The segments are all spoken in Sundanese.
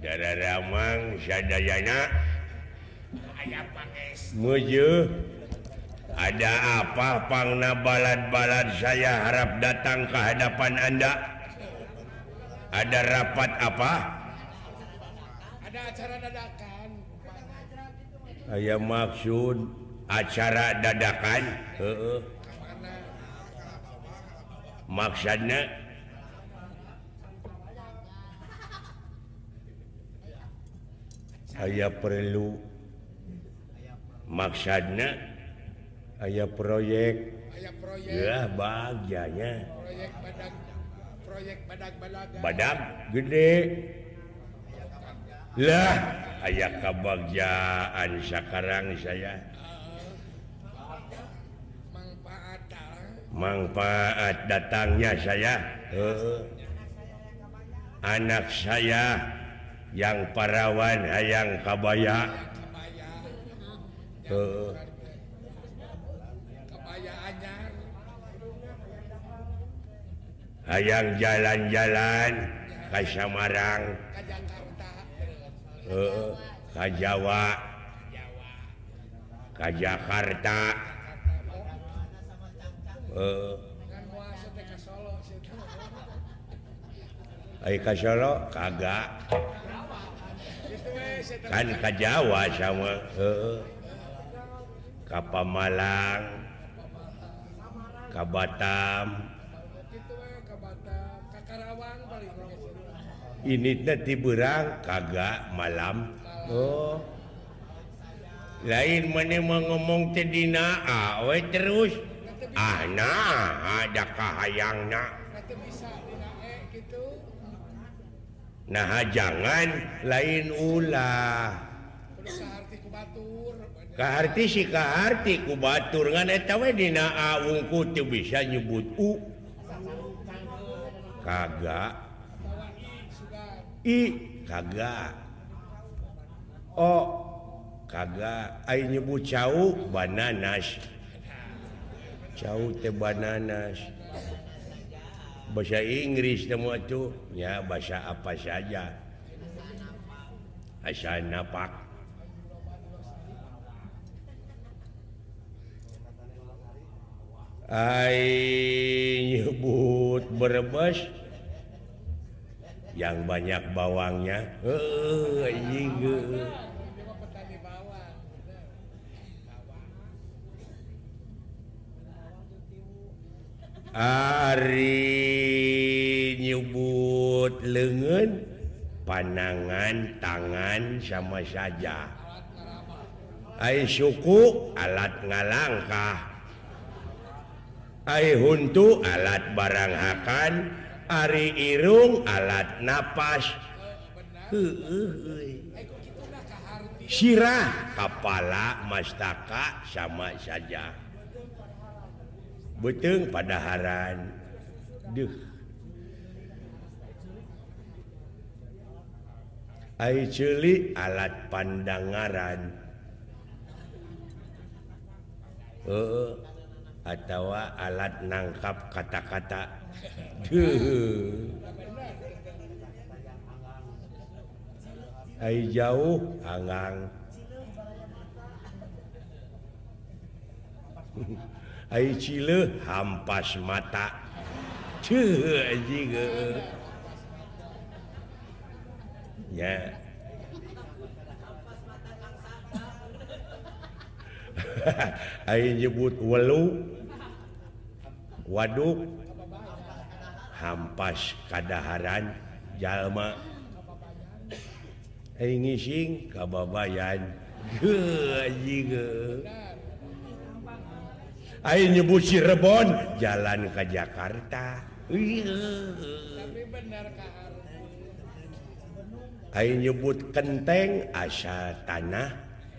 Ramang Sadayana Muju ada apa pangna balad-balad saya harap datang ke hadapan Anda. Ada rapat apa? Ada acara dadakan. Aya maksud acara dadakan? Heeh. Maksudnya aya perlu maksudnya aya proyek ya bagiannya proyek badak gede lah aya kebahagiaan sekarang saya manfaat datangnya saya anak saya yang parawan hayang kabaya hayang jalan-jalan ke Samarang ke Jawa ke Jakarta ke Solo kagak kan ke Jawa sama ke Pamalang ke Batam ini nanti berang kagak malam lain mana mau ngomong tedina awe terus ada kahayangna nah jangan lain ulah kaharti si kaharti ku batur ngan eta we dina wungku teu bisa nyebut kagak kagak kagak ai nyebut cau bananas cau teh bananas bahasa Inggris semua tuh ya bahasa apa saja asal napak ai nyebut Brebes yang banyak bawangnya Ari nyebut lengan panangan tangan sama saja ai suku alat ngalangkah ai huntu alat baranghakan ari irung alat napas sirah kepala mastaka sama saja beteng padaharan ai ceuli alat pandangaran atau alat nangkap kata-kata ai jauh angang ai cileuh hampas mata anjing ya ai nyebut welu waduk hampas kadaharan jalma ai ngising kababayan anjing ai nyebut Cirebon jalan ke Jakarta ai nyebut Kenteng asal tanah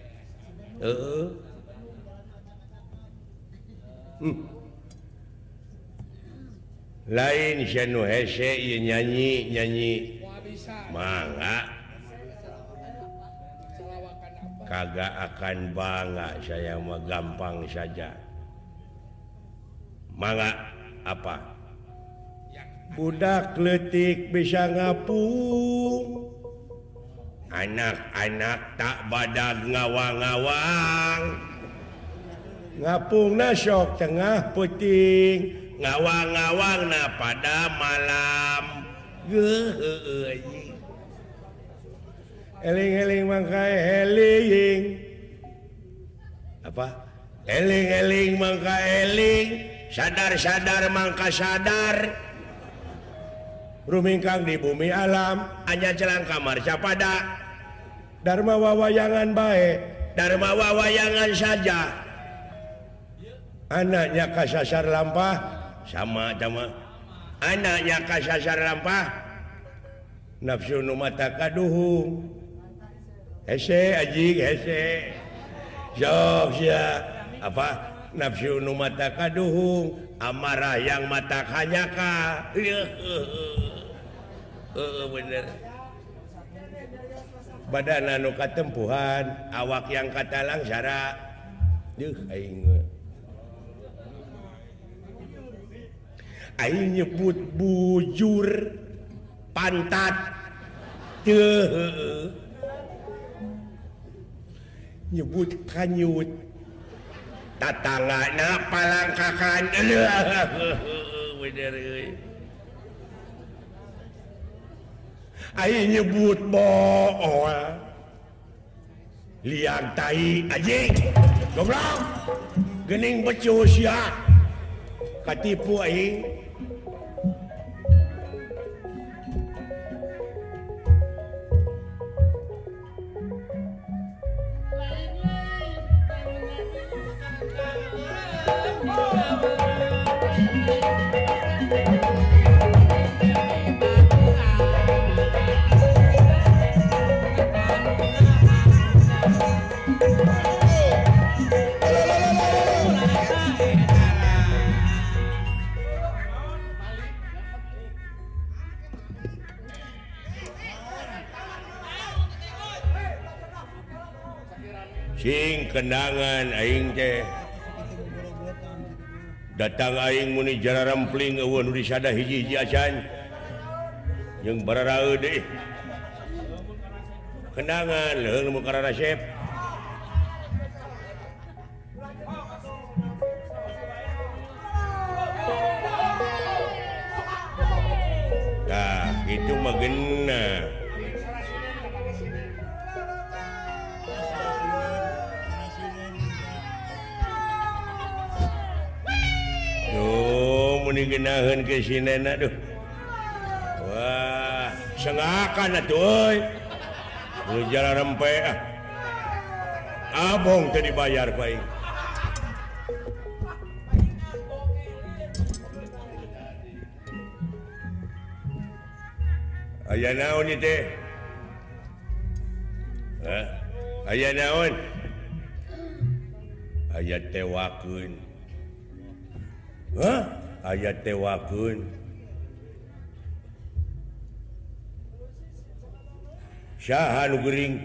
lain sanu hese nyanyi mangga kagak akan bangga saya mah gampang saja mangga apa budak leutik bisa ngapung anak-anak tak badag ngawang-ngawang ngapungna sok tengah puting ngawang-ngawang na pada malam eling-eling mangkai eling apa eling-eling mangka eling sadar-sadar mangka sadar rumingkang di bumi alam hanya jelang kamar capada dharma wawayangan baik dharma wawayangan saja anaknya kasasar lampah sama anaknya kasasar lampah nafsu nu mata kaduhung hese anjing hese sok sia apa nafsu nu mata kaduhung amarah yang mata hanyaka bener badan anu katempuhan awak yang katalang sara aing nyebut bujur pantat nyebut kanyut tatangana palangkakan bener aing nyebut bool liang tai anjing goblok geuning becus ya katipu aing sing kendangan aing teh datang aing muni jara rempling eueuh nu disada hiji-hiji acan jeung bararaeud deui kendangan leung nu karana resep tah itu mah geuna genaheun ke sinena duh wah sengakan atuh euy nu jara rempe abong teu dibayar ku aing aya naon ieu teh aya naon aya tewakeun aya tewakeun saha nu geuring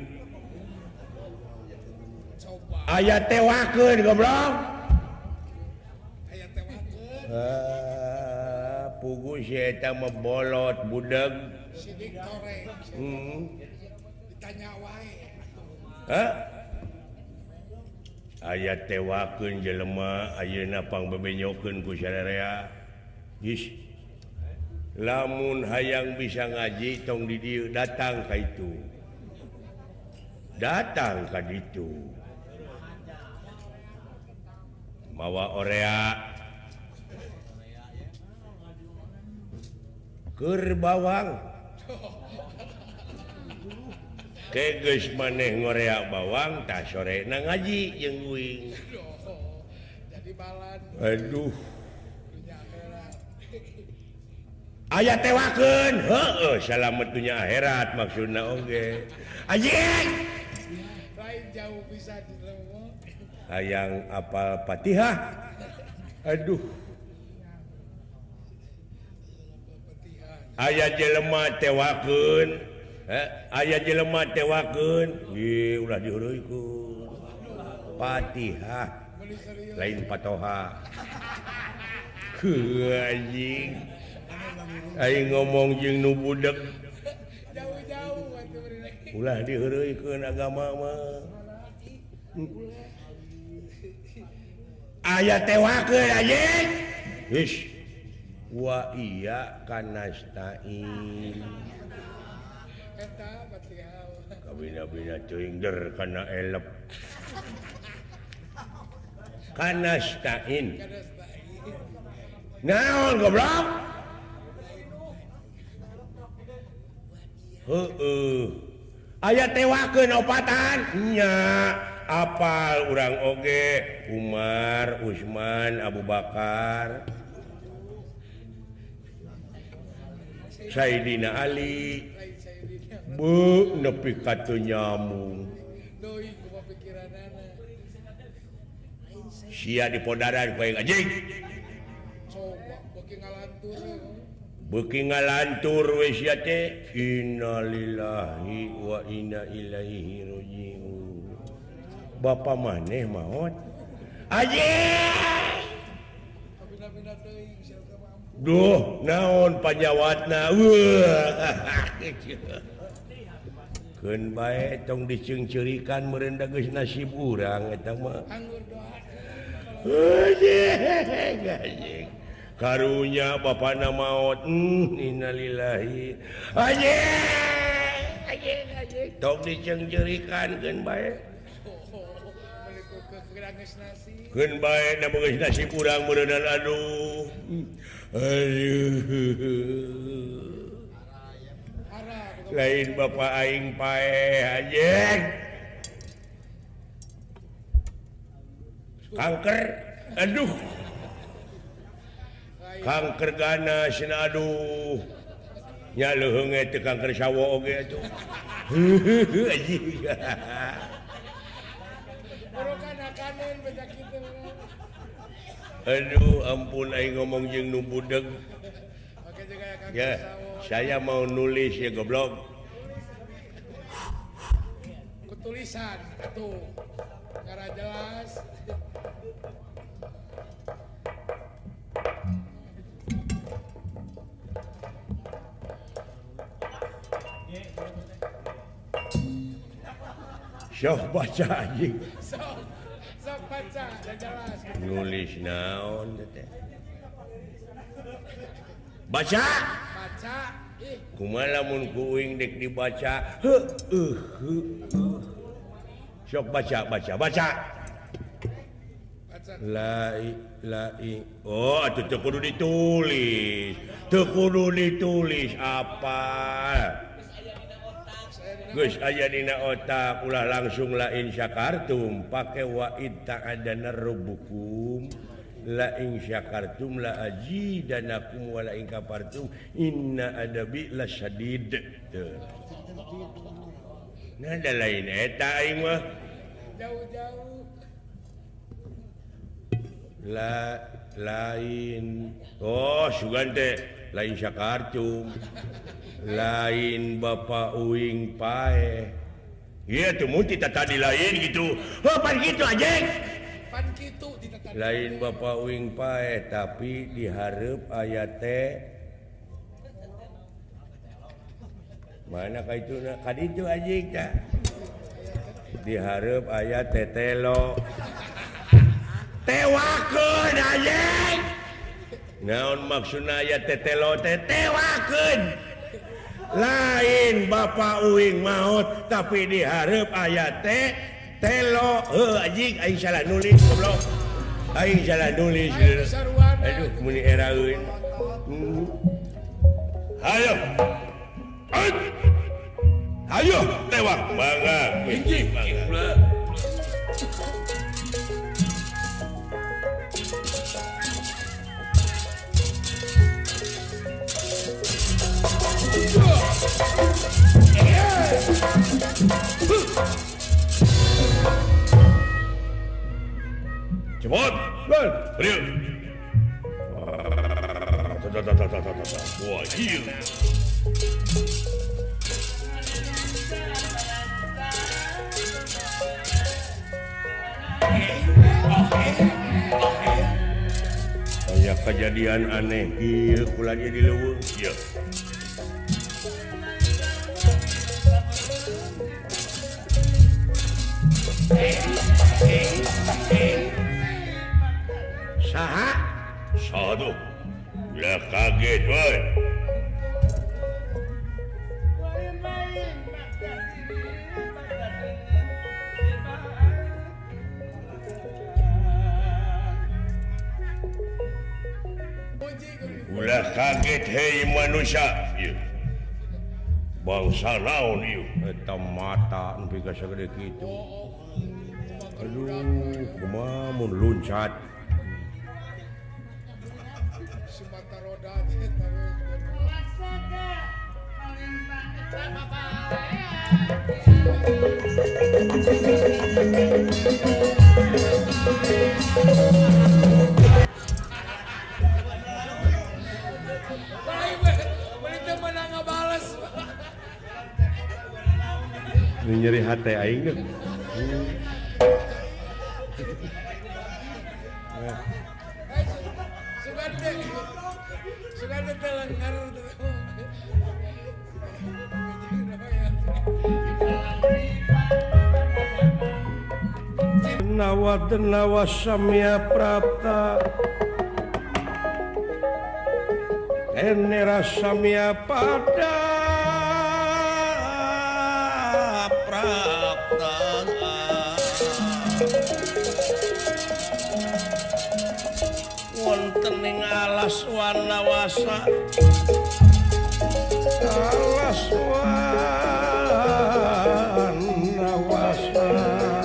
aya tewakeun goblok aya tewakeun pugu si eta mah bolot budeg sidik toreng ditanya wae aya tewakeun jelema ayeuna pangbebenyokeun ku sararea geus lamun hayang bisa ngaji tong di dieu datang ka itu datang ka ditu mawa orea keur bawang geus maneh ngorea bawang tah sorena ngaji jeung uing jadi balan aduh aya tewakeun heueuh salamet dunya akhirat maksudna oge anjing lain jauh bisa dileuweung hayang apal Fatihah aduh aya jelema tewakeun aya jelema tewakeun ulah diheureuykeun Fatihah lain Fatoha anjing aing ngomong jeung nu budeg jauh-jauh atuh ulah diheureuikeun agama mah aya tewakeun anjing ish wa iya kanastain Eta Fatihah. kabina-bina teuing der kana elep kanastain Kada stain. naon goblok heeh aya tewakeun opatan nya apal urang oge Umar Usman Abu Bakar Sayyidina Ali Lain saya dina. bu nepi ka teu nyambung Doi kumaha pikiranana. sia di podaran poe anjing Coba beuki ngalantur. beuki ngalantur we sia teh innalillahi wa inna ilaihi rajiun bapa maneh maot anjing Kabina-bina deui siapa mampu. duh naon panyawatna weuh keun bae tong diceungceurikan meureun da geus nasib urang eta mah Anggur doa. anjing karunya bapana maot innalillahi anjing tong diceungceurikan keun bae Meliku ke geranges nasi. keun bae da geus nasib urang meureunan aduh Harap. lain bapak aing pae anjing kanker aduh kanker ganas cenah aduh nya leuheung teh kanker sawo oge atuh anjing Boro kana-kanan beda kitu. aduh ampun aing ngomong jeung nu budeg Oke juga ya Kang ya Sawo. saya mau nulis ya goblok Kutulisan tuh. Cara jelas. sok baca anjing Sok. Sok baca dan jelas. nulis naon teh baca Baca. Ih, kumaha lamun kuing dek dibaca sok baca baca. oh atuh teu kudu ditulis apa geus aya dina otak ulah langsung lain syakartum pake wa ta'adana rabbukum la in syakartum la azidanakum wa la in kafartum inna adabi lasyadid teu nah da lain eta aing mah Jauh-jauh. lain oh sugan teh lain syakartum lain bapak uing pae iya tuh muti tadi lain gitu oh pan gitu anjing Pan kitu ditata. lain bapak uing pae tapi dihareup aya teh mana ka itu ka ditu anjing tah dihareup aya tetelo tewakeun anjing naon maksudna aya tetelo tewakeun lain bapak uing maut tapi dihareup aya telo anjing aing salah nulis goblok aing salah nulis aduh muni eraeun hayo hayo tewak bangga anjing cepot bal real wah iya kayak kejadian aneh ieu kulanya di leuweung ieu Saha? Satu. Lah kaget woy. Ulah kaget hei manusia. Ieu. Bangsa naon ieu? Eta mata nepi ka sagede kitu. Aduh, kumaha mun luncat. Si mata roda teh Ini nyeri hati aing deh. Sugande telengar Nawa samya prapta Enera samya pada prapta wonten ing alas wanawasa alas wanawasa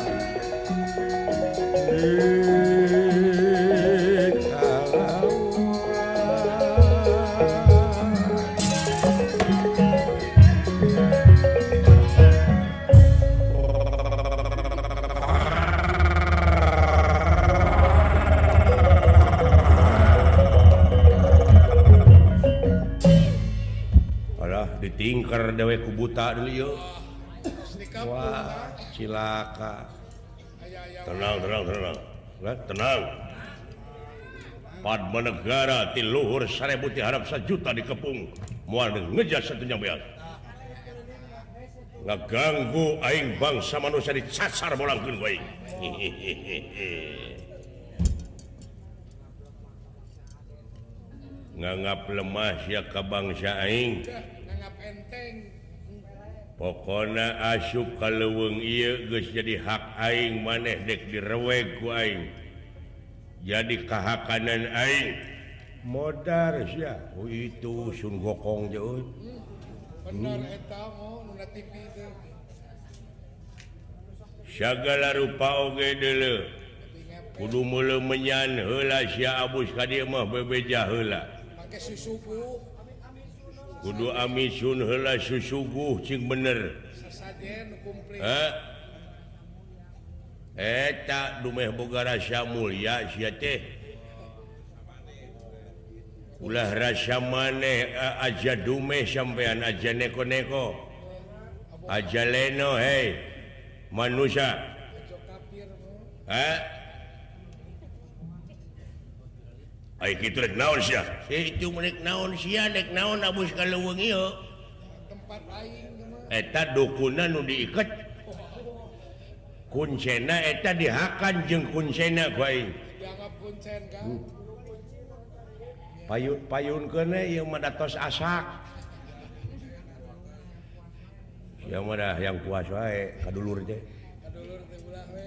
ditingker dewe ku buta dulu yuk. Wah, cilaka. Tenang. Tenang. Padma negara ti luhur 1000 ti harap 1 juta dikepung. Moal ngejas satunya beas. Ngaganggu aing bangsa manusia dicasar bolangkeun ku aing. Nganggap lemah sia ka bangsa aing. nganggap enteng. Pokona asup ka leuweung ieu geus jadi hak aing maneh dek direweg ku aing. Jadi kahakanan aing. Modar sia. Oh itu Sun Gokong je euy. Bener eta mau nu TV teh. Sagala rupa oge deuleu. Kudu meuleuh menyan heula sia abus ka dieu mah bebeja heula. Make susuguh. Kudu amisun heula susuguh cing bener. Sasajen kumplit. Eta dumeh boga rasa mulia sia teh. Ulah rasa maneh aja dumeh sampean aja neko-neko. Aja leno hei manusia. Ai kitu rek naon sia? Itu menek naon sia dek naon abus ka leuweung ieu. Tempat aing mah. Eta dukuna nu diiket. Kuncena eta dihakan jeung kuncena ku aing. Dianggap kuncen kan. Payun-payunkeun ieu mah datos asak. Sia mah dah yang puas wae kadulur teh. Kadulur teh ulah we.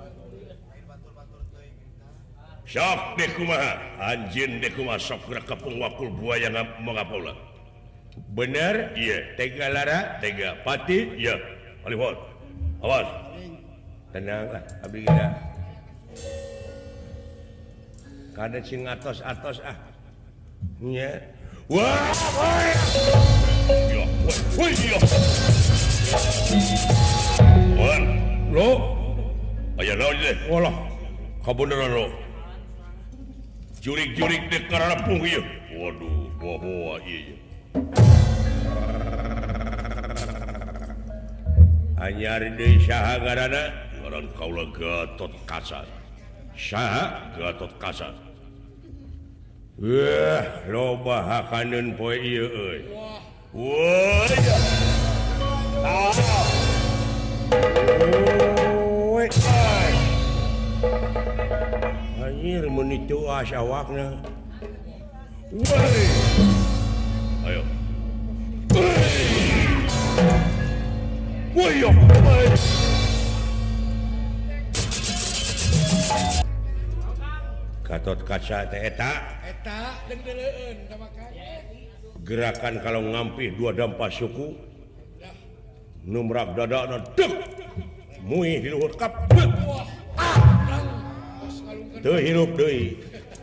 Sok deh kumaha anjeun deh kumaha sok gerak kepung wakul buaya ngapaula. Bener? Iya. Tega lara? Tega pati? Iya. Alifon. Awas. Tenanglah, abdi kita. Kada sing atos-atos ah. Nya. Wah, woi. Ya, woi ya. Wan, Lo, aya naon deh? walah. Kabeneran lo. Jurik-jurik dek karapung ieu. Waduh, boa-boa ieu. Anyar deui saha ngaranna? Ngaran kaula Gatot Kaca. Saha Gatot Kaca? Wah, loba hakaneun poe ieu euy. Woi. Oy. anjir mun itu awakna. Ayo. Woyo. Gatot Kaca teh eta dengdeuleun makanya gerakan kalau ngampih dua dampak suku numrak dadana dek muih di luhur kap teu hirup deui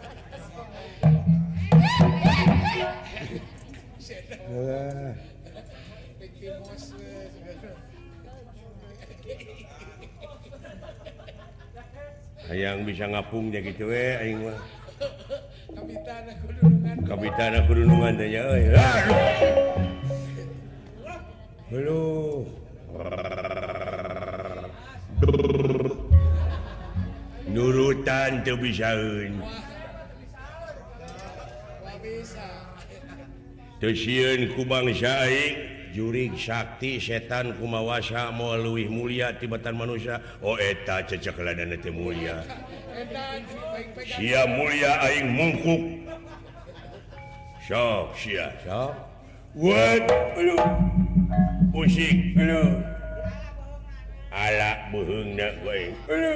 hayang bisa ngapungnya gitu aing mah kapitana kudunungan teh ya euy halo nurutan teu bisaeun teu sieun ku bangsa aing jurig sakti setan kumawasa moal leuwih mulia tibatan manusia eta cecekelanana teu mulia sia mulia aing mungkuk sok sia sok what musik lu ala beheungna ku aing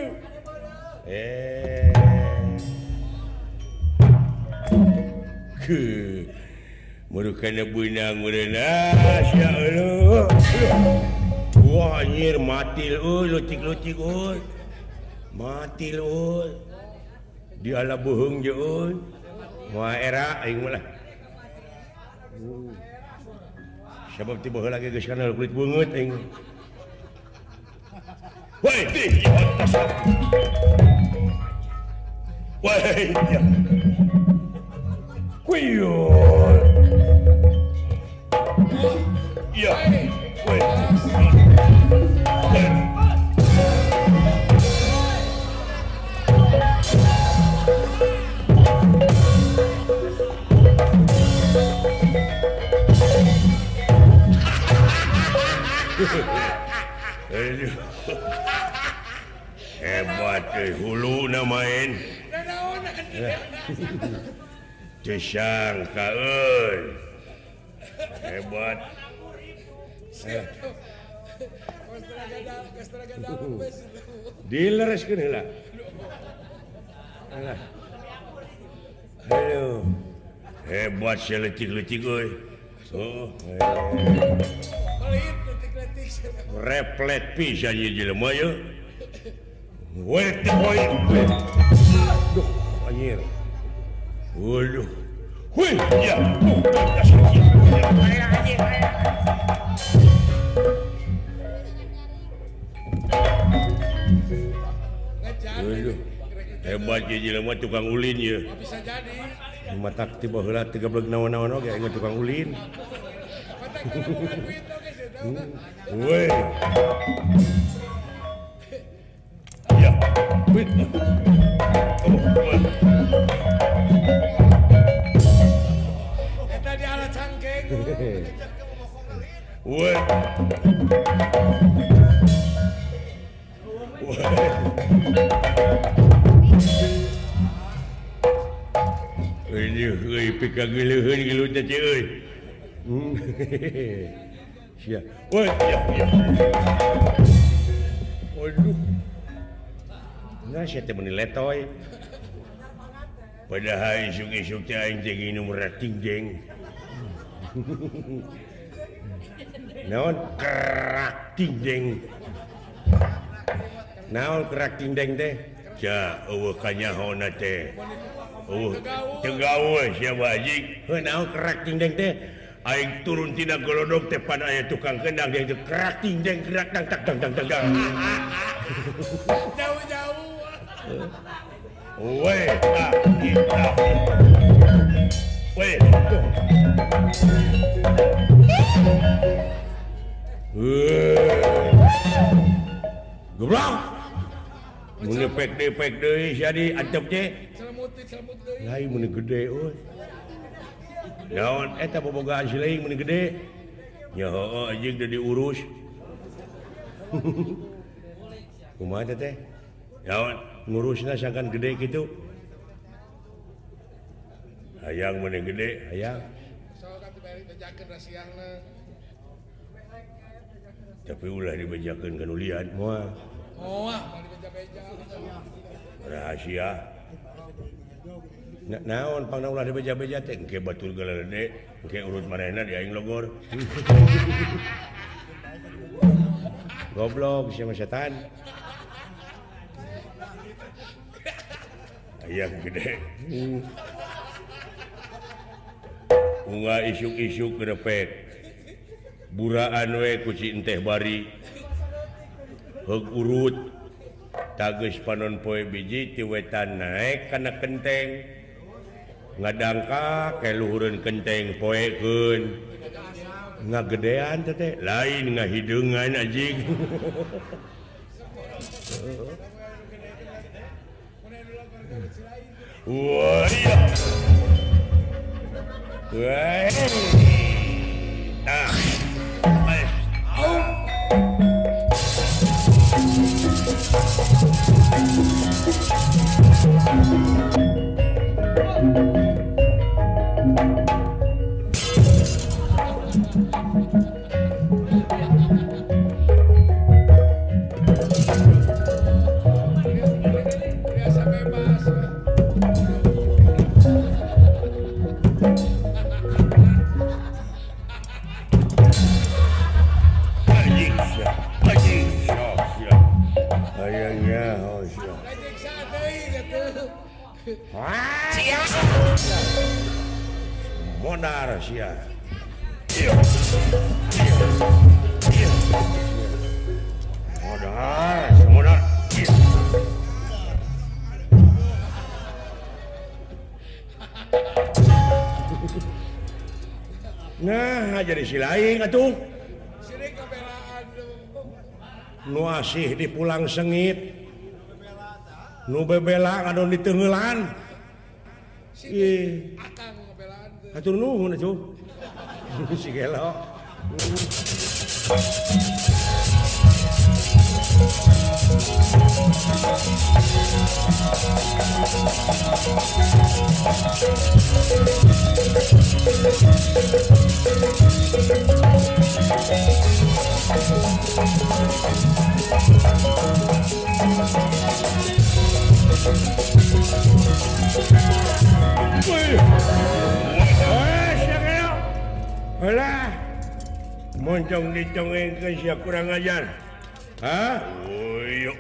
Merukana benang merena sia Allah. Wah anjir mati lucik-lucik mati di ala beheung je wah era aing mah sabab ti baheula ge geus kana kulit beungeut aing woi di woi ya kuyo ya woi hebat hulu na main disangka hebat dilereskeun heula alah halo hebat selecik-lecik euy replet pisan ieu jelema ye wait boy duh anjir waduh hui ya waduh hebat ieu jelema tukang ulin ye bisa jadi mata tiba heula 13 naon-naon oge ingat tukang ulin woi ya wait eta di ala cangkeng woi ini euy pika geuleuheun gelut teh euy sia woi ya waduh nah sia teh meuni letoy padahal isuk-isuk teh aing teh nginum rating deng naon kerak tindeng naon kerak tindeng teh ja eueuh kanyahona teh teu gawe sia bajing heuh naon kerak tindeng teh aing turun tina golodog teh pada aya tukang kendang dia teh kerak tindeng kerak dang tak dang dang dang jauh-jauh weh kita weh goblok mun pek deui jadi antep teh celemut deui lain mun gede euy naon eta bobogaan si leuing mun gede nya heueuh anjing teu diurus kumaha teh naon ngurusna sangkan gede kitu hayang mana gede hayang tapi ulah dibejakeun ka nulian moal rahasia naon pangna ulah dibeja-beja teh engke batur galede engke urut marehna di aing logor goblok sia setan hayang gede unggah isuk-isuk grepek buraan we ku si enteh bari heug urut tageus panon poe biji ti wetan naek kana kenteng ngadangka ke luhureun kenteng poekeun ngagedean teh lain ngahideungan anjing wah iya wah modar sia modar nah jadi si lain atuh nu asih di pulang sengit nu bebela ngadon di tenggelan ih atur nuhun atuh si gelo Alah, moncong dicongeng ke sia kurang ajar. Hah? Uyuk.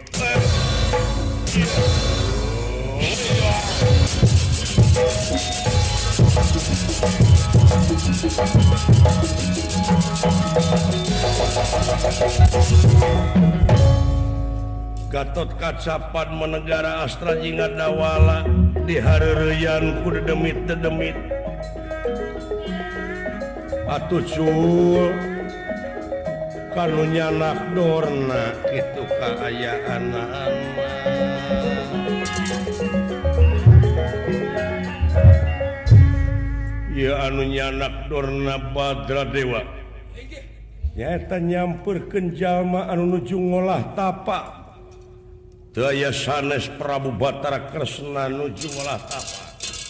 Gatot Kacapan menegara Astra Jingga Dawala di hareureyan ku dedemit-dedemit atuh cul kanu nyanak dorna kitu kaayaan ya anu nyanak dorna Badra Dewa nyata nyamperkeun jalma anu nuju ngolah tapak teu aya sanes Prabu Batara Kresna nuju ngolah tapak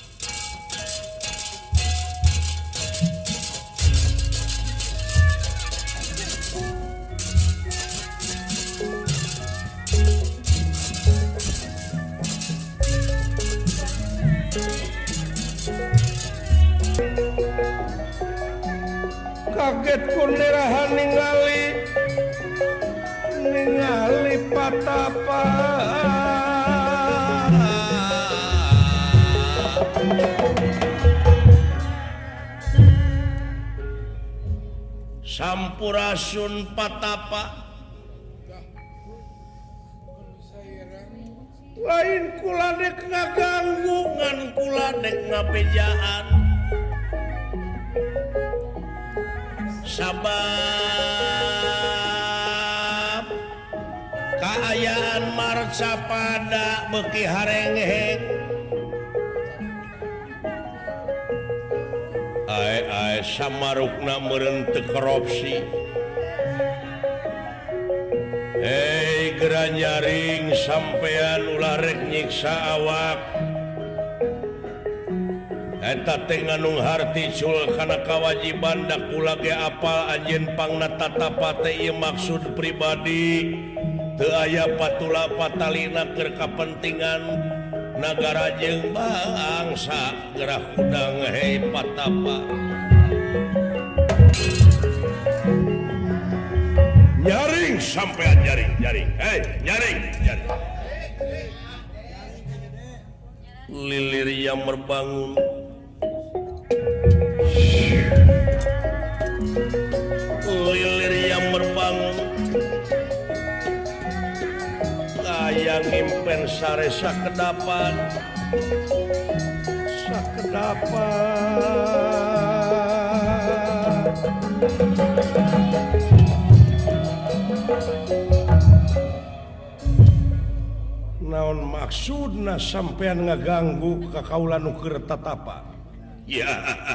kaget kunderahan ningali patapa sampurasun patapa lain kula dek ngaganggu ngan kula dek ngabejaan sabab kaayaan marca pada beki harengheng ae samarukna meureun teu korupsi hei gera nyaring sampean ulah rek nyiksa awak eta teh nganung harti sul kana kawajiban da kula ge apal anjeun pangna tatapa teh ieu maksud pribadi teu aya patula patalina keur kapentingan nagara jeung bangsa gerah kudang hei patapa nyaring sampean nyaring hei nyaring lilir yang berbangun lilir yang berbangun kayak ngimpen sare sakedapan naon maksudna sampean ngaganggu ka kaula nu keur tatapa ya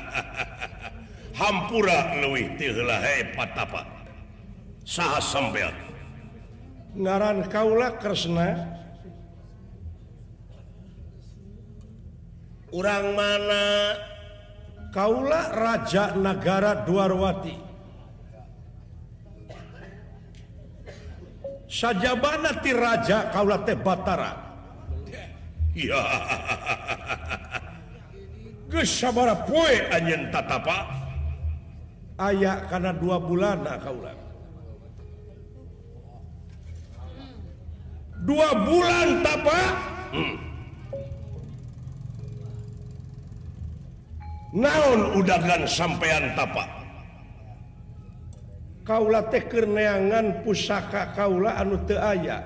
hampura leuwih teu heula he patapa saha sampean ngaran kaula Kresna urang mana kaula raja nagara Dwarwati sajabana ti raja kaula teh Batara ya geus sabaraha poe anjeun tatapa aya kana 2 bulanna kaula 2 bulan tapa naon udagan sampean tapa kaula teh keur neangan pusaka kaula anu teu aya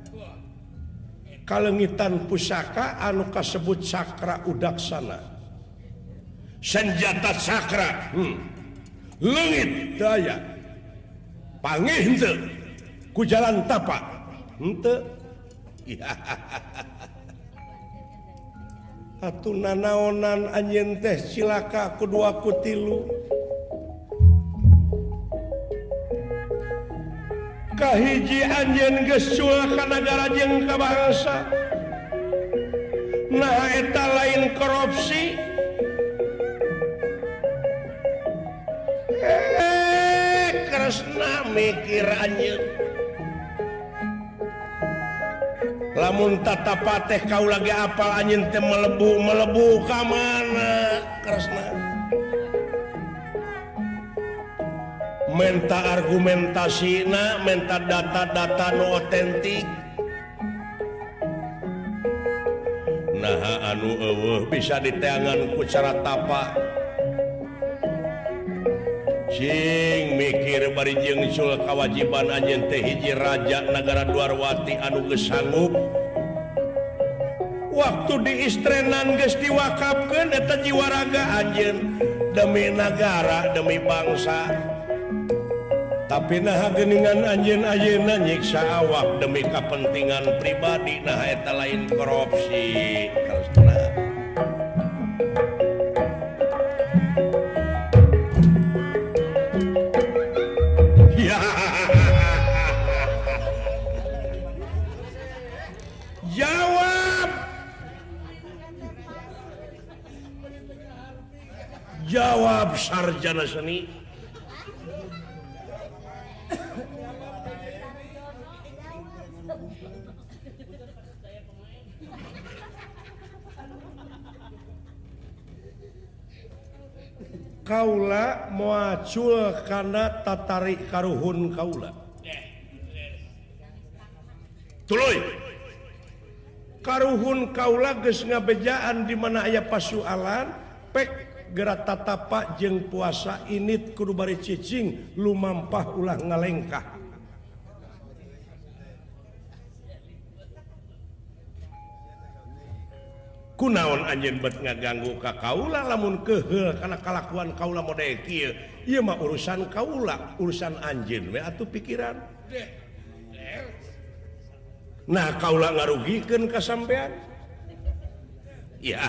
kalengitan pusaka anu kasebut sakra udaksana senjata sakra leungit teu aya pangih henteu ku jalan tapa henteu atuh nanaonan anjeun teh cilaka ku 2 ku 3 kahiji anjeun geus sul ka nagara jeung ka bangsa nah eta lain korupsi Kresna mikir anjeun lamun tatapa teh kaula ge apal anjeun teh melebu ka mana Kresna menta argumentasina menta data-data nu otentik nah anu eueuh bisa diteangan ku cara tapa sing mikir bari jeung sul kawajiban anjeun teh hiji raja nagara Dwarwati anu geus sanggup waktu diistrenan geus diwakafkeun eta jiwa raga anjeun demi nagara demi bangsa tapi nah geuningan anjeun ayeuna nyiksa awak demi kepentingan pribadi nah eta lain korupsi Kresna jawab sarjana seni kaula moacul kana tatari karuhun kaula tuluy karuhun kaula geus ngabejaan di mana aya pasualan pek gerak tatapa jeung puasa init kudu bari cicing lumampah ulah ngalengkah kunaon anjeun bet ngaganggu ka kaula lamun keheul kana kalakuan kaula model kieu ieu mah urusan kaula urusan anjeun we atuh pikiran nah kaula ngarugikeun ka sampean ya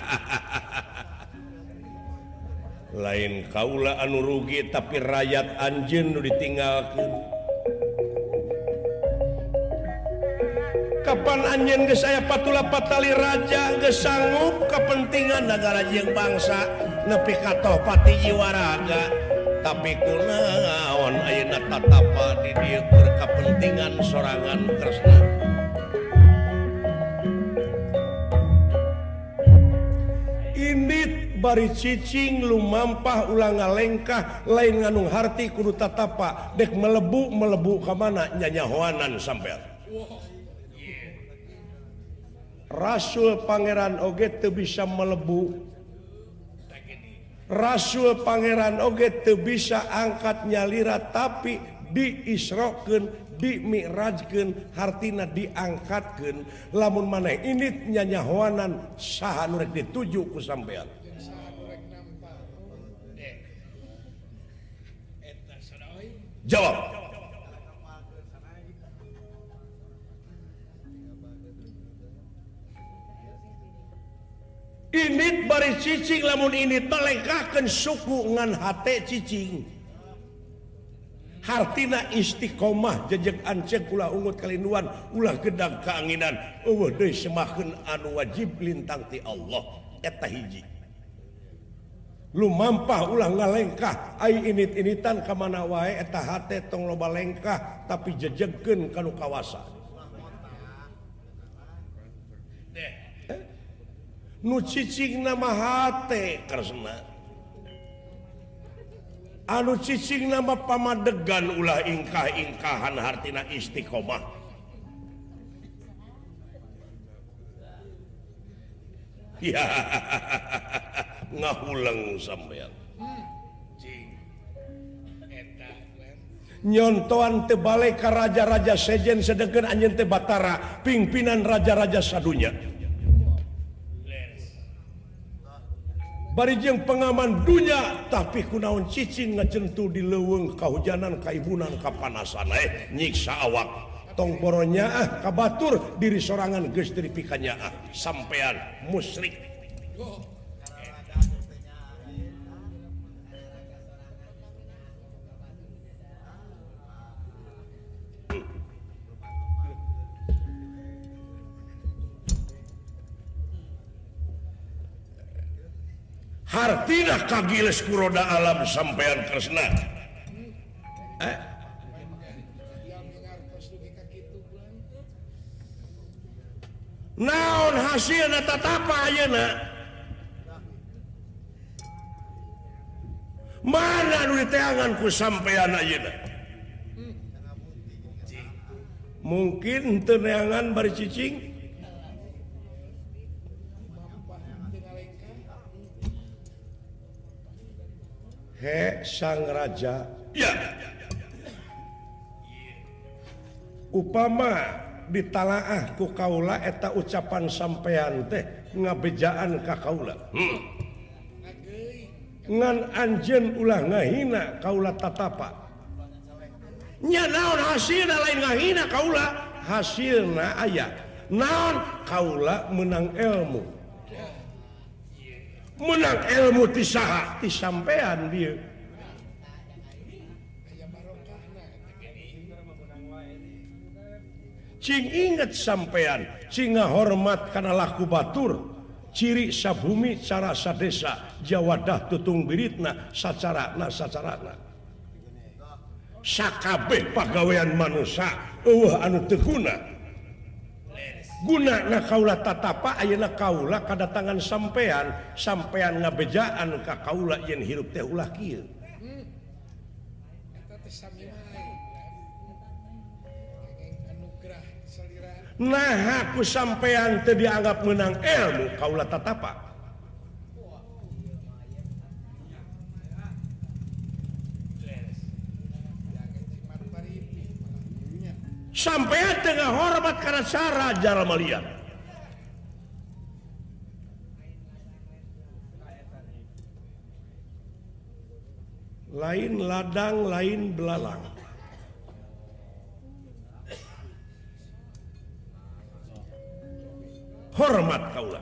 lain kaula anu rugi tapi rakyat anjeun nu ditinggalkeun ka kapan anjeun geus aya patula patali raja geus sanggup kepentingan negara jeung bangsa nepi ka toh pati jiwa raga tapi kunaon ayeuna tatapa di dieu keur kepentingan sorangan Kresna indit bari cicing lumampah ulang ngalengkah lain nganung harti kudu tatapa dek melebu ka mana nyanyahoanan sampean Rasul Pangeran oge teu bisa melebu Rasul Pangeran oge teu bisa angkat nyalira tapi diisrokeun dimi'rajkeun hartina diangkatkeun lamun maneh indit nyanyahoanan saha nu rek dituju ku sampean jawab indit bari cicing lamun indit melengkahkeun suku ngan hate cicing hartina istiqomah jejeg anceg ulah ungut kalinduan ulah gedang kaanginan eueuh deui semakeun anu wajib lintang ti Allah eta hiji lumampah ulah ngalengkah ai init-initan ka mana wae eta hate tong loba lengkah tapi jejegkeun kanu kawasa nu cicingna mah hate Kresna anu cicing nama pamadegan ulah ingkah-ingkahan hartina istiqomah ya ngahuleng sampean nyontoan teu balik ka raja-raja sejen sedengkeun anjeun teh Batara pimpinan raja-raja sadunya bari jeung pengaman dunya tapi kunaon cicing ngacentu di leuweung kahujanan kaibunan kapanasan nyiksa awak tong boronya ka batur diri sorangan geus teu dipikanya sampean musyrik hartina kagiles kuroda alam sampean Kresna naon hasilna tatapa ayeuna mana nu diteangan ku sampean ayeuna mungkin teu neangan bari cicing sang raja ya upama ditalaah ku kaula eta ucapan sampean teh ngabejaan ka kaula ngan anjeun ulah ngahina kaula tatapa nya naon hasilna lain ngahina kaula hasilna aya naon kaula menang ilmu ti saha ti sampean dieu cing inget sampean cing ngahormat kana laku batur ciri sabumi cara sadesa jawadah tutung biritna sacarana sakabeh pagawean manusia eueuh anu teu gunana kaula tatapa ayeuna kaula kadatangan sampean ngabejaan ka kaula yen hirup teh ulah kieu nah aku sampean teu dianggap menang ilmu kaula tatapa sampean tengah hormat karena cara jalma liar lain ladang lain belalang hormat kaula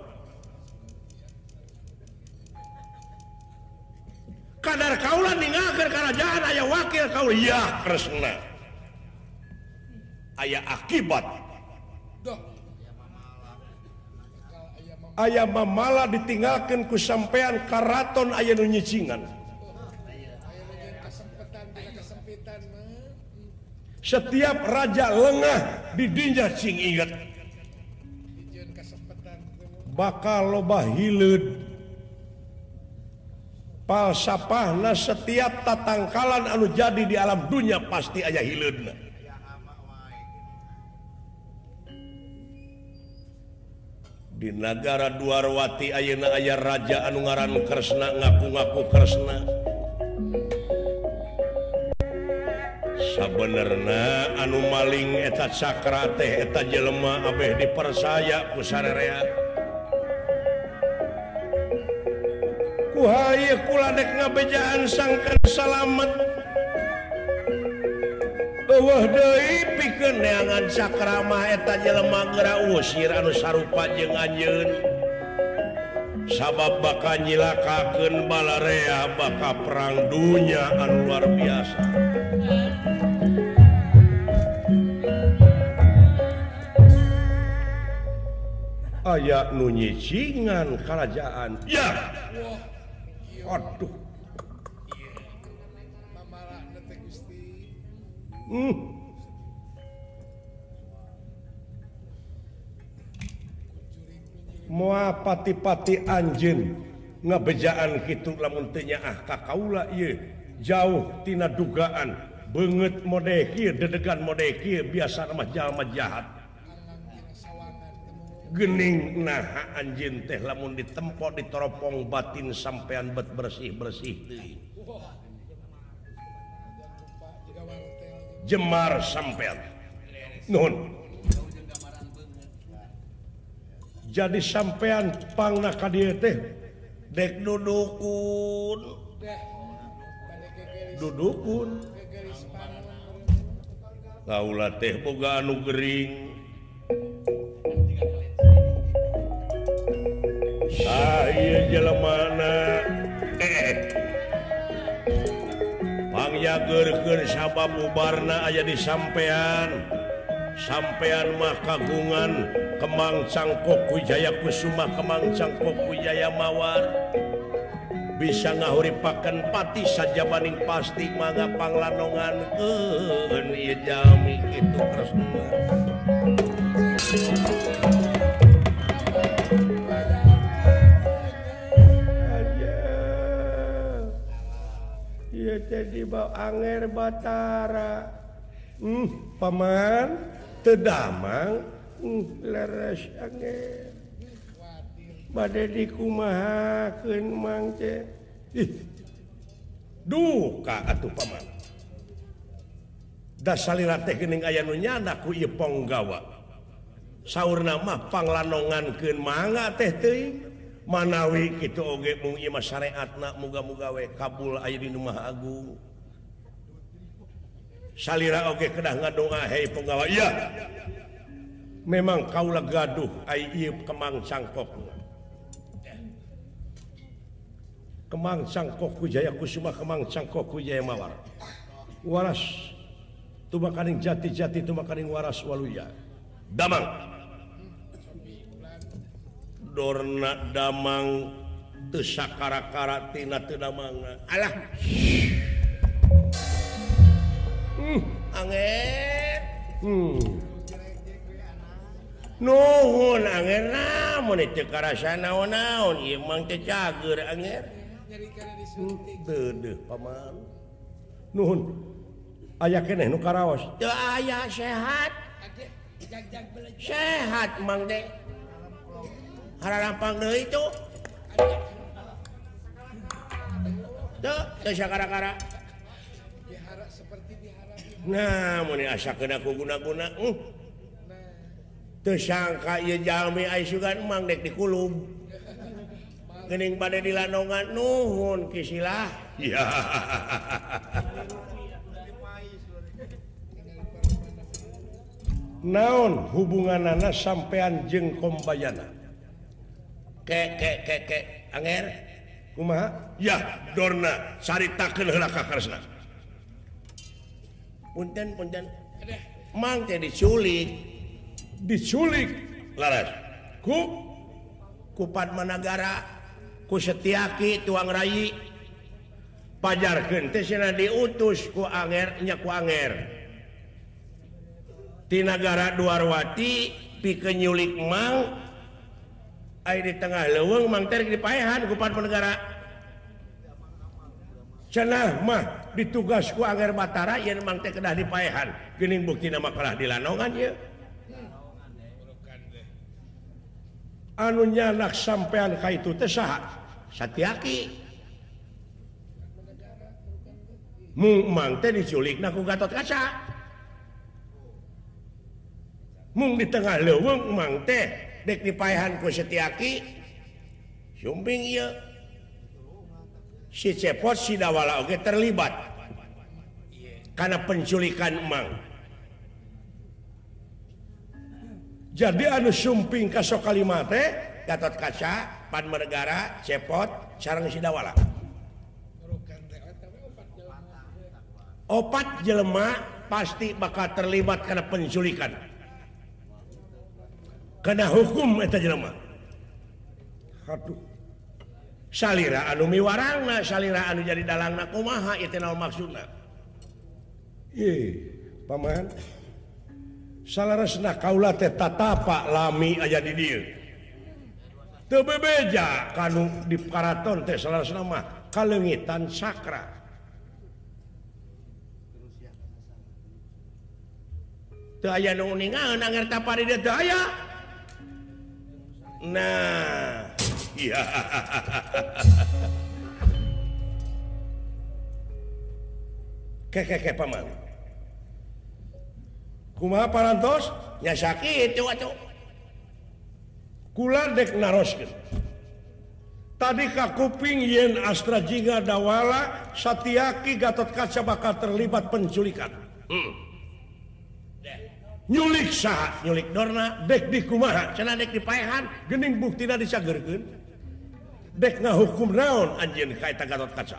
kadar kaula ninggalkeun kerajaan aya wakil kaula ya Kresna aya akibat aya mamala ditinggalkan ku sampean karaton aya nu nyicingan. Setiap raja lengah di dinya cing ingat bakal loba hileud palsapahna setiap tatangkalan anu jadi di alam dunia pasti aya hileudna. Di negara Dwarwati ayeuna aya raja anu ngaran Kresna ngaku-ngaku Kresna. Sabenerna anu maling eta cakra teh eta jelema abeh dipersaya ku sararea. Ku haye kula dek ngabejaan sangkan salamet. Eueuh deui pikeun neangan cakra mah eta jelema geura usir anu sarupa jeung anjeun. Sabab bakal nyilakakeun balarea bakal perang dunia anu luar biasa. Aya nu nyicingan kerajaan. Ya. Aduh. Moal pati-pati anjeun ngabejaan kitu lamun teu nyaah ka kaula ieu jauh tina dugaan beungeut mode kieu dedegan mode kieu biasa mah jalma jahat. Gening naha anjeun teh lamun ditempo ditoropong batin sampean bet bersih-bersih teuing. Jemar sampean. Nuhun. Jadi sampean pangna ka dieu teh dek dudukun. Dudukun. Kaula teh boga anu gering. Saya jelemana pangyageurkeun sabab bubarna aya di sampean. Sampean mah kagungan Kemang Cangkok Wijaya Kusuma Kemang Cangkok Wijaya Mawar. Bisa ngahuripakeun pati sajabaning pasti mangga panglanongankeun ieu jalmi kitu Kresna. Jadi bau anger Batara. Paman tedamang leres anger. Bade dikumahakeun mang teh. Duka atuh paman. Da salira teh geuning aya nu nyana ku ieu Ponggawa. Saurna mah panglanongankeun mangga teh teuing. Manawi kitu oge mung ieu mah syariatna muga-muga we kabul aya di Maha Agung. Salira oge kedah ngadoa hei Penggawa. Iya. Memang kaula gaduh ai ieu Kemang Cangkok. Kemang Cangkok Wijaya Kusuma Kemang Cangkok Wijaya Mawar. Waras tumakaning jati-jati tumakaning waras waluya. Damang. Dorna damang teu sakara-kara tina teu damangna. Alah. Anger. Nuhun anger namun teu karasa naon-naon ieu mah teh cager anger. Deudeuh paman. Nuhun. Aya keneh nu karaos. Teu aya sehat. Sehat mang teh. Haralampang deui itu. Teu sakara-kara. Nah, mun asakeun aku guna-guna. Teu sangka ieu jalmi aya sugan mang dek dikulum. Geuning bade dilanongan nuhun kisilah. Ya. Naon hubunganana sampean jeung Kombayana? Ke anger kumaha? Ya, Dorna caritakeun heula ka Kresna. Punten mang teh diculik laras ku kupat Managara ku Setiaki tuang Rai pajarkeun teh cenah diutus ku Anger nya ku Anger ti nagara Dwarwati pikeun nyulik Mang aya di tengah leuweung Mang teh dipaehan ku kupat Managara cenah mah ditugas ku Anger Batara yen Mang teh kedah dipaehan geuning buktina mah kalah di Lanongan ye anu nyanak sampean ka itu teh saha Satyaki mung Mang teh diculikna ku Gatotkaca mung di tengah leuweung Mang teh dek dipaehan ku Satyaki sumping ieu si Cepot si Dawala oge terlibat karena penculikan Mang jadi anu sumping kasok kalimat teh Gatotkaca, Pan Manegara, Cepot, sareng si Dawala. Opat jelema pasti bakal terlibat karena penculikan. Kena hukum eta jelema. Aduh. Salira anu miwarangna, salira anu jadi dalangna kumaha ieu teh naon maksudna? Paman. Salaresna kaula teh tatapa lami aya di dieu. Teu bebeja kanu di karaton teh salaresna mah kaleungitan sakra. Teu aya nu ningaeun anger tapari dieu teu aya. Nah, iya. Keke paman. Kumaha parantos nya sakitu atuh kula dek naroskeun tadi ka kuping yen Astra Jingga Dawala Satyaki Gatotkaca bakal terlibat penculikan nyulik saha nyulik Dorna dek di kumaha cenah dek dipaehan geuning buktina disageurkeun dek ngahukum naon anjeun ka eta Gatotkaca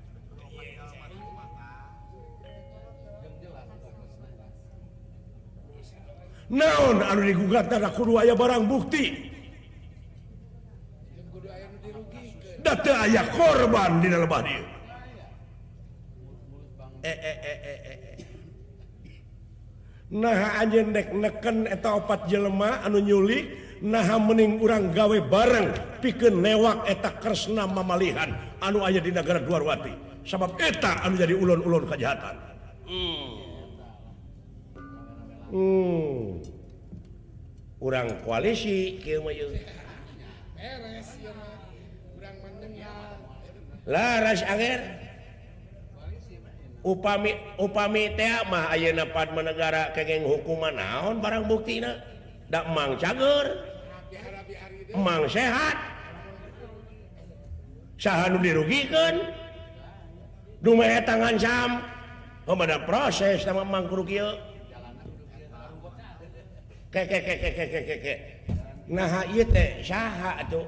naon anu digugat na kudu aya barang bukti da teu aya korban dina lebah dieu nah anjeun dek neken eta opat jelema anu nyulik nah mending urang gawe bareng pikeun newak eta kresna mamalihan anu aya di nagara Dwarwati sabab eta anu jadi ulun-ulun kajahatan urang koalisi kieu mah yeung beres ieu mah urang mendengar laras Anger upami teh mah ayeuna Pan Manegara kengeng hukuman naon barang buktina da Mang cager Mang sehat saha nu dirugikeun dumae tangan sam pemada proses sama Mang kudu kieu ke nah ieu teh saha atuh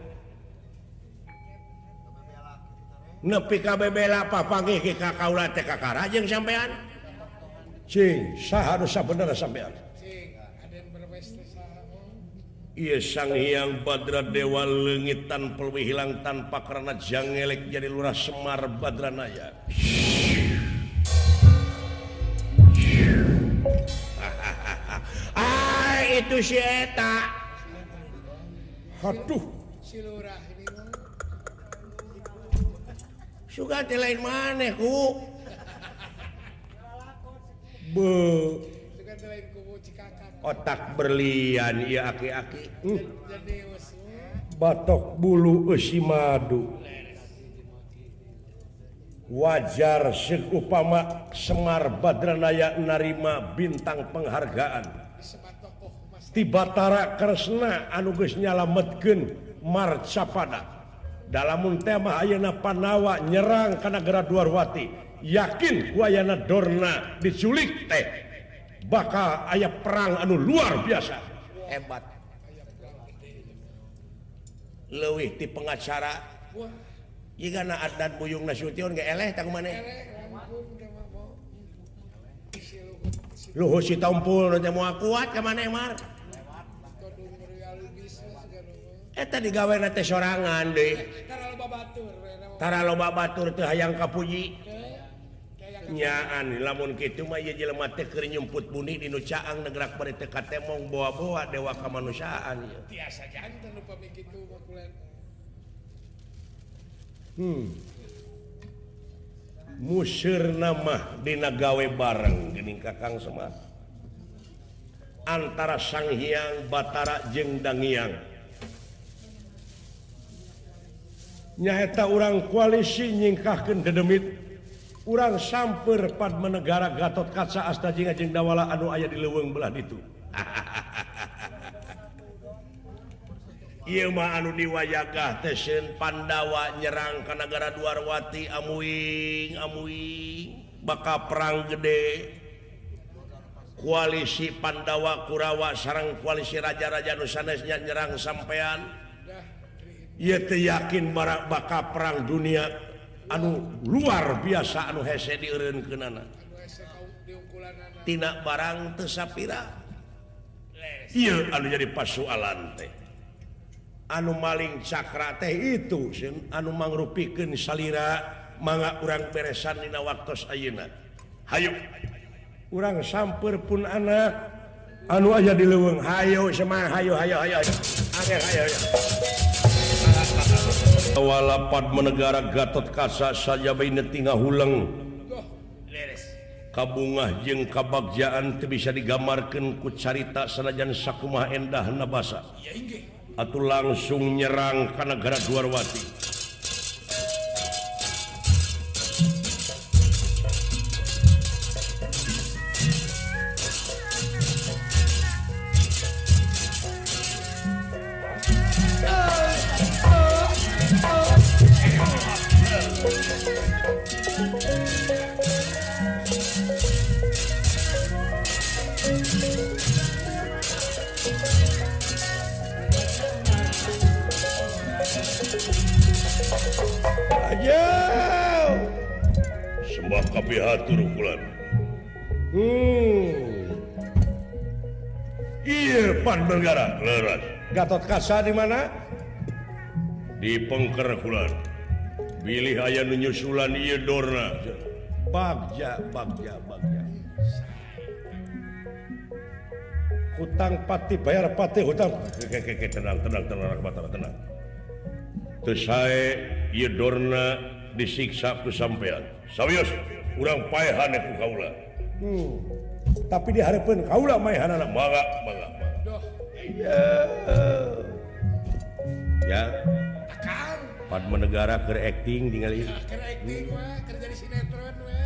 nepi ka bebela papanggih ka kaula teh kakara jeung sampean cing saha nu sabenerna sampean cing aden berwes teh saha ieu Sang Hyang Badra Dewa leungitan pelwi hilang tanpa karena jangelek jadi Lurah Semar Badranaya itu si eta aduh si lurah ini mah suka teh lain maneh ku suka teh lain kubu Cikakak otak berlian ieu aki-aki jadi batok bulu eusi madu wajar ceuk upama Semar Badranaya narima bintang penghargaan ti Batara Kresna anu geus nyalametkeun marcapada dalamun teh mah ayeuna Panawa nyerang ka nagara Dwarwati yakin ku ayeuna Dorna diculik teh bakal aya perang anu luar biasa hebat leuwih ti pengacara jigana Adnan Buyung Nasution ge eleh tah kumaneh Luhur si Tompul teh moal kuat ka maneh Mar eta digawe teh sorangan deui tara loba batur teu hayang kapuji nyaan lamun kitu mah ieu jelema teh keur nyumput buni dinu caang negrak bari teh katemong bawa-bawa dewa kamanusiaan tiasa janten nu pami kitu mah kulen museurna mah dina gawe bareng geuning Kakang Semar antara Sang Hyang Batara jeung Dangiang nyaeta urang koalisi nyingkahkeun dedemit urang samper Padma Negara Gatot Kaca Astajinga jeung Dawala anu aya di leuweung belah ditu ieu mah anu diwayagah teh sieun Pandawa nyerang ka nagara Dwarwati amuing baka perang gede koalisi Pandawa Kurawa sareng koalisi raja-raja nu sanesnya nyerang sampean ieu teh yakin baka perang dunia anu luar biasa anu hese dieureunkeunana tina barang teu sapira ieu anu jadi pasoalan teh anu maling cakra teh itu anu mangrupikeun salira mangga urang beresan dina waktos ayeuna hayu urang samper pun anak anu aya di leuweung hayu semah hayu angger hayu Dawala Padma Negara Gatot Kaca sajabaina tinggal hulang kabungah jeung kabagjaan teu bisa digambarkeun ku carita sanajan sakumaha endahna basa atuh langsung nyerang ka nagara Dwarwati sembah kapihatur kulan iya Padma Negara leras Gatot Kaca di mana di Pengker kulan bilih aya nu nyusulan ieu dorna bagja hutang pati bayar pati hutang tenang Batara tenang teu sae ieu dorna disiksa ku sampean sawios urang paehan ku kaula tapi dihareupeun kaula maehanana mangga ya akang Padma Negara keur acting ningali keur acting mah keur jadi sinetron mah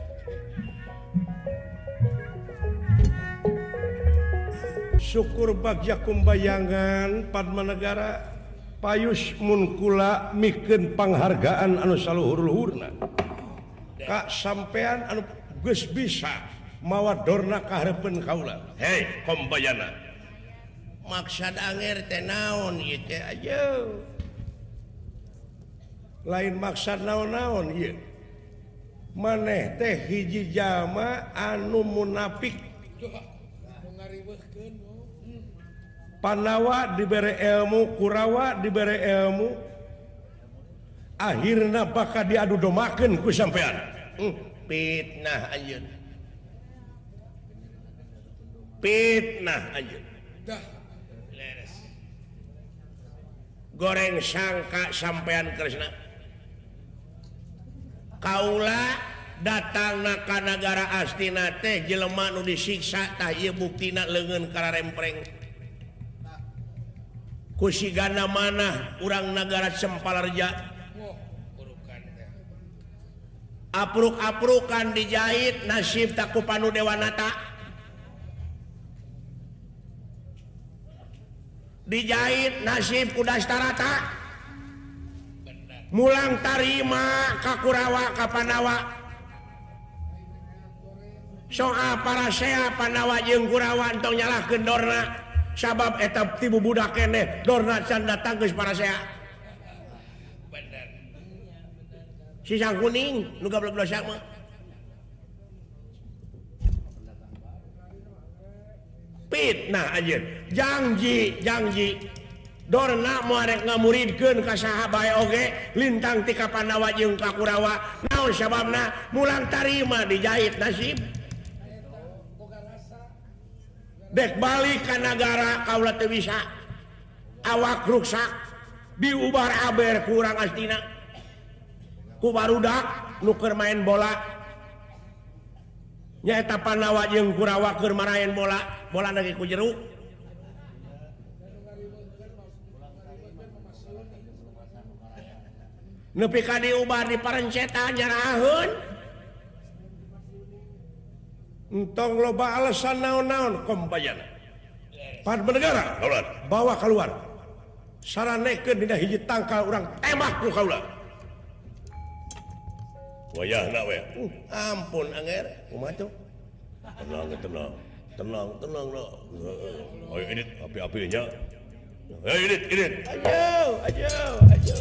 syukur bagja kumbayangan Padma Negara payus mun kula mikeun panghargaan anu saluhur-luhurna ka sampean anu geus bisa mawa dorna ka hareupeun kaula hei kombayana maksad anger teh naon ieu teh aja lain maksad naon-naon ieu maneh teh hiji jalma anu munafik Pandawa diberi ilmu Kurawa diberi ilmu akhirna bakal diadu domakeun ku sampean fitnah anjeun dah leres goreng sangka sampean Kresna kaula datangna ka nagara Astina teh jelema nu disiksa tah ieu buktina leungeun kararempreng kusigana mana urang nagara Sempalarja apruk-aprukan dijahit nasib taku panu Dewanata dijahit nasib ku Dastarata mulang tarima ka Kurawa ka Pandawa soal para sea Pandawa jeung Kurawa entong nyalahkeun dorna sabab etap tibu budak keneh dorna can datang geus para sea bener si sang kuning nu gablek dosa mah fitnah anjeun janji Dorna muarek ngamuridkeun ka saha bae oge lintang ti ka Pandawa jeung ka Kurawa naon sababna mulang tarima dijahit nasib dek balik ka nagara kaula teu bisa awak ruksak diubar aber kurang astina ku barudak nu keur main bola nyaeta Pandawa jeung Kurawa keur maraen bola lagi ku jeruk nepi ka diubar di parencetan nyaraheun entong loba alasan naon-naon kompayana pan negara kaulah bawa keluar saranekeun dina hiji tangkal urang tembak ku kaula wayahna we ampun anger kumaha tuh tenang no ayo ini api-api nya ayo ini ayo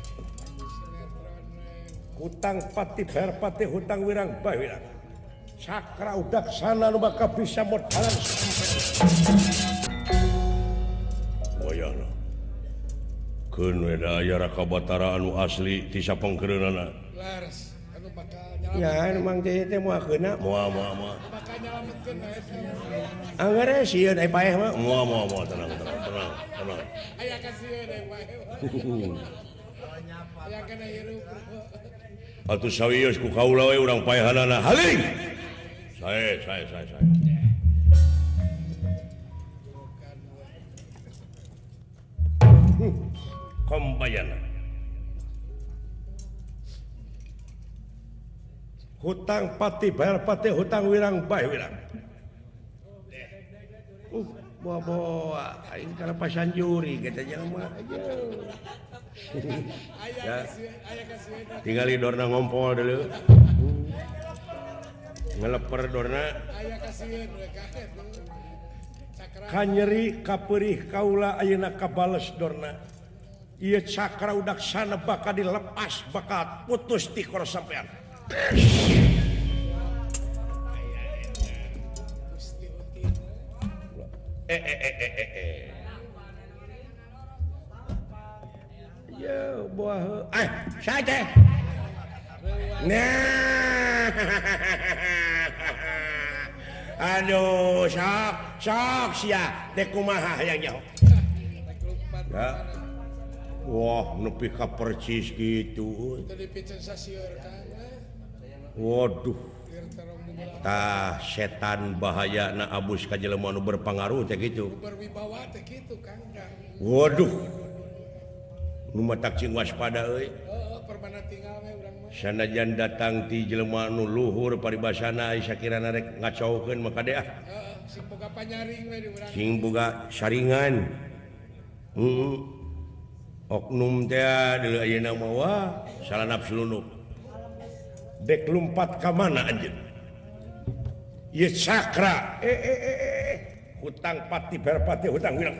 hutang pati berpati hutang wirang bae wirang sakra udak sana nu bakal bisa modalan wayahna keun we da aya Raka Batara anu asli ti sapengkeureunana laras anu bakal nyalametkeun ya emang teh moakeuna moal bakal nyalametkeun angere sieun ai paeh mah moal tenang aya kasieun ai paeh aya kana hirup atuh sawios ku kaula we urang paehanana haling sae kombayana hutang pati bayar pati hutang wirang bae wirang bawa aing kana pasan juri kita jangan mah aja ya tinggal dorna ngompol dulu ngeleper dorna kanyeri kaperih kaula ayeuna kabales dorna ieu cakra udaksana bakal dilepas bakal putus ti kor sampean ya buah saja nah aduh sok sia teh kumaha hayang nyaho ya wah nepi ka percis kitu waduh tah setan bahaya na abus ka jelema nu berpengaruh teh kitu berwibawa teh kitu Kang waduh nu matak cing waspada euy permana tinggal we urang mah sanajan datang ti jelema nu luhur paribasana ai sakirana rek ngacaukeun maka deh sing boga panyaring we di urang sing boga saringan oknum teh deuleu ayeuna mah wah salah nafsu lunuk dek lumpat ka mana anjeun ieu sakra hutang pati berpati hutang wirang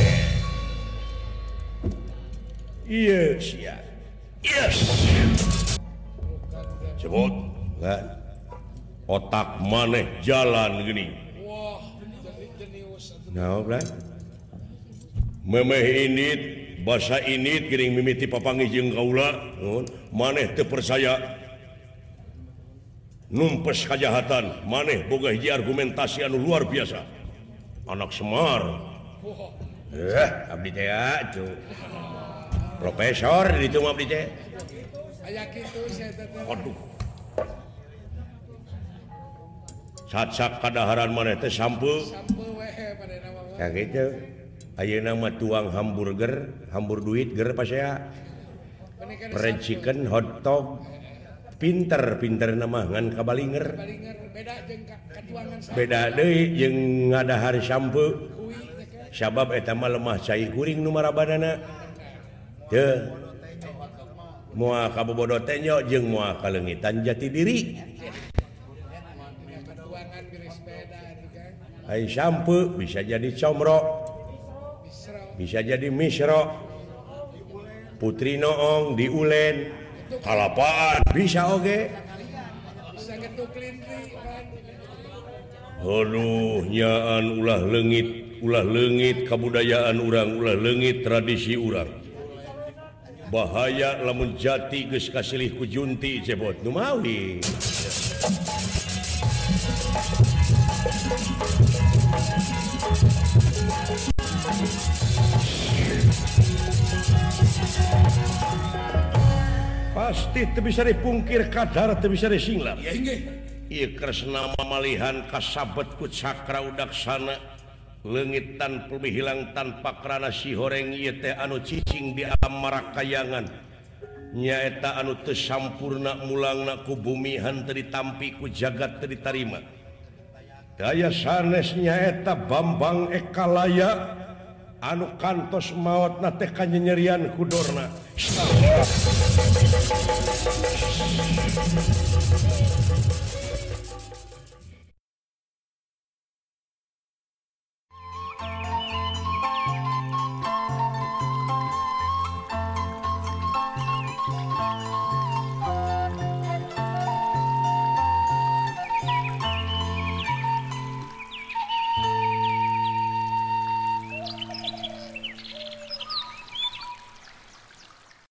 iya sia yes sebut kan otak maneh jalan gini wah jenius nah blan memeh init basa init geuning mimiti papanggih jeung kaula maneh teu percaya numpes kajahatan maneh boga hiji argumentasi anu luar biasa anak Semar abdi teh atuh profesor di itu abdi teh aya kitu saya teh aduh sak kadaharan maneh teh sampeu we pada nama ya gitu ayeuna mah tuang hamburger hambur duit ger pasea fried chicken hot dog pinter nama ngan kabalinger beda deui jeung ngadahar sampeu sabab eta mah lemah cai kuring nu marabanana teu moal kabobodo teh nya jeung moal kalengitan jati diri ai sampeu bisa jadi comro bisa jadi misro putri noong di ulen kalapaan bisa oge aduh nyaan ulah leungit ulah leungit kabudayaan urang ulah leungit tradisi urang bahaya lamun jati geus kasilih ku junti cebot nu mawi pasti teu bisa dipungkir kadar teu bisa disinglang ieu kresna mamalihan kasabet ku cakra udaksana leungit tanpa hilang tanpa kerana si horeng ieu teh anu cicing di alam marakayangan nyaeta anu teu sampurna mulangna ku bumi henteu ditampi ku jagat teu ditarima daya sanes nyaeta Bambang Ekalaya anu kantos maotna teh kanyerian kudorna